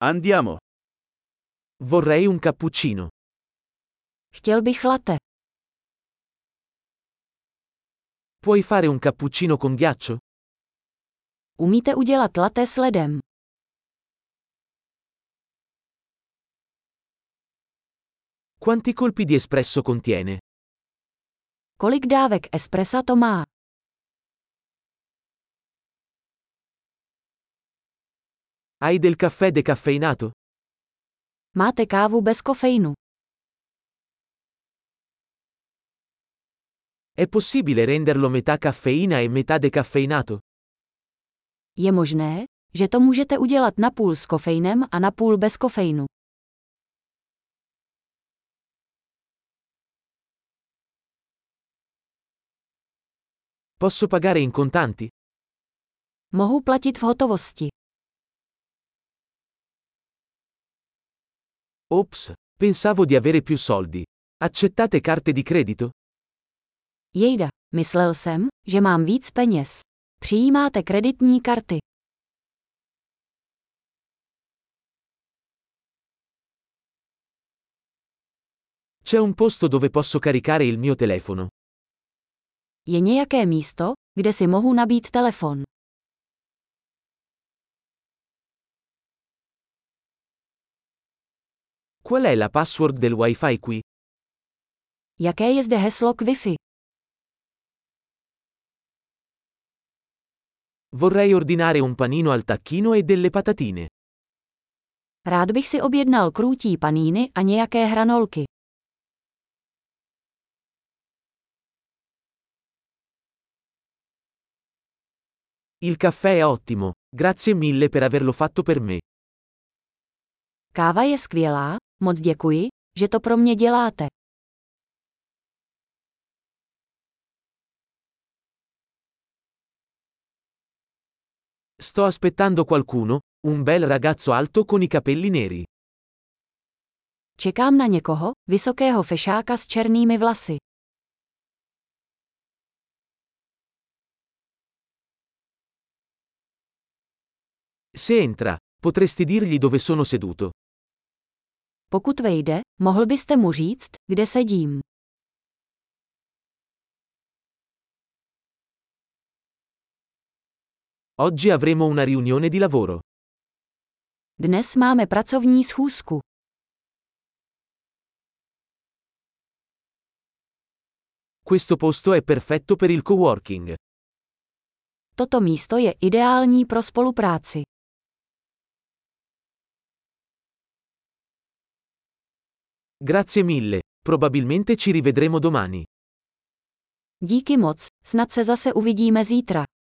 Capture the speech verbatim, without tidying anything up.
Andiamo. Vorrei un cappuccino. Chtěl bych latte. Puoi fare un cappuccino con ghiaccio? Umíte udělat latte s ledem? Quanti colpi di espresso contiene? Kolik dávek espressa to má? Hai del caffè decaffeinato? Máte kávu bez kofeinu? È possibile renderlo metà caffeina e metà decaffeinato? Je možné, že to můžete udělat napůl s kofeinem a napůl bez kofeinu. Posso pagare in contanti? Mohu platit v hotovosti. Ops, pensavo di avere più soldi. Accettate carte di credito? Jejda, myslel jsem, že mám víc peněz. Přijímáte kreditní karty. C'è un posto dove posso caricare il mio telefono. Je nějaké místo, kde si mohu nabít telefon. Qual è la password del Wi-Fi qui? Jaké je zde heslo k Wi-Fi? Vorrei ordinare un panino al tacchino e delle patatine. Rád bych si objednal krůtí paníny a nějaké hranolky. Il caffè è ottimo, grazie mille per averlo fatto per me. Káva je skvělá, moc děkuji, že to pro mě děláte. Sto aspettando qualcuno, un bel ragazzo alto con i capelli neri. Čekám na někoho, vysokého fešáka s černými vlasy. Se entra, potresti dirgli dove sono seduto. Pokud vejde, mohl byste mu říct, kde sedím. Oggi avremo una riunione di lavoro. Dnes máme pracovní schůzku. Questo posto è perfetto per il coworking. Toto místo je ideální pro spolupráci. Grazie mille, probabilmente ci rivedremo domani. Díky moc, snad se zase uvidíme zítra.